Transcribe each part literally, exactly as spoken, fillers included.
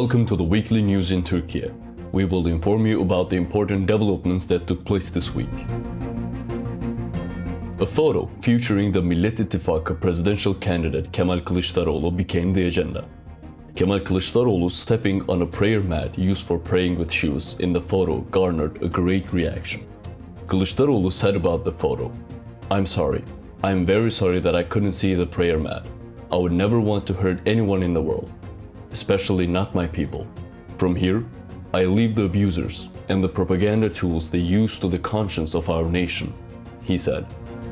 Welcome to the weekly news in Turkey. We will inform you about the important developments that took place this week. A photo featuring the Millet İttifakı presidential candidate Kemal Kılıçdaroğlu became the agenda. Kemal Kılıçdaroğlu stepping on a prayer mat used for praying with shoes in the photo garnered a great reaction. Kılıçdaroğlu said about the photo, "I'm sorry. I'm very sorry that I couldn't see the prayer mat. I would never want to hurt anyone in the world, especially not my people. From here, I leave the abusers and the propaganda tools they use to the conscience of our nation," he said.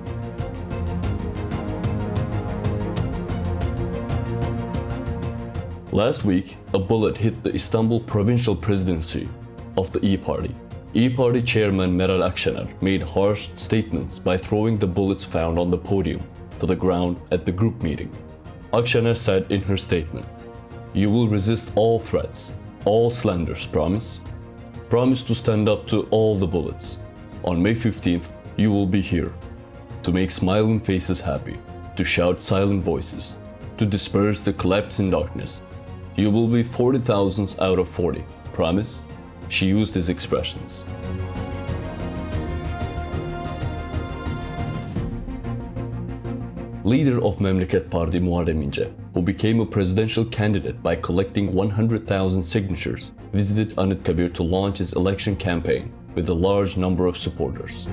Last week, a bullet hit the Istanbul provincial presidency of the İYİ Party. İYİ Party chairman Meral Akşener made harsh statements by throwing the bullets found on the podium to the ground at the group meeting. Akşener said in her statement, "You will resist all threats, all slanders, promise? Promise to stand up to all the bullets. On May fifteenth, you will be here, to make smiling faces happy, to shout silent voices, to disperse the collapsing darkness. You will be forty thousands out of forty, promise?" She used these expressions. Leader of Memleket Party Muharrem İnce, who became a presidential candidate by collecting one hundred thousand signatures, visited Anıtkabir to launch his election campaign with a large number of supporters.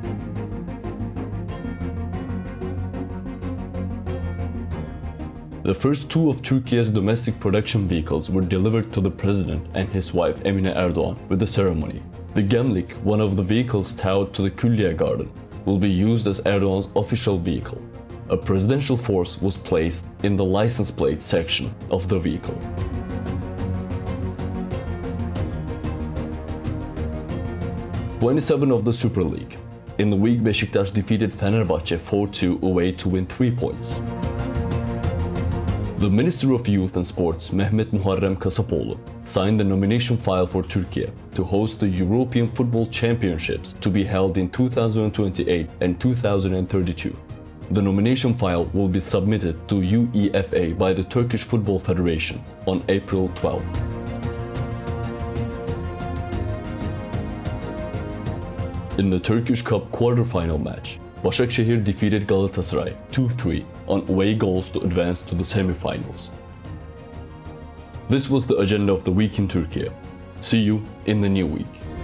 The first two of Turkey's domestic production vehicles were delivered to the president and his wife Emine Erdoğan with the ceremony. The Gemlik, one of the vehicles towed to the Külliye Garden, will be used as Erdoğan's official vehicle. A presidential force was placed in the license plate section of the vehicle. twenty-seven of the Super League. In the week, Beşiktaş defeated Fenerbahçe four two away to win three points. The Minister of Youth and Sports, Mehmet Muharrem Kasapoğlu, signed the nomination file for Turkey to host the European Football Championships to be held in two thousand twenty-eight and two thousand thirty-two. The nomination file will be submitted to UEFA by the Turkish Football Federation on April twelfth. In the Turkish Cup quarter-final match, Başakşehir defeated Galatasaray two three on away goals to advance to the semi-finals. This was the agenda of the week in Turkey. See you in the new week.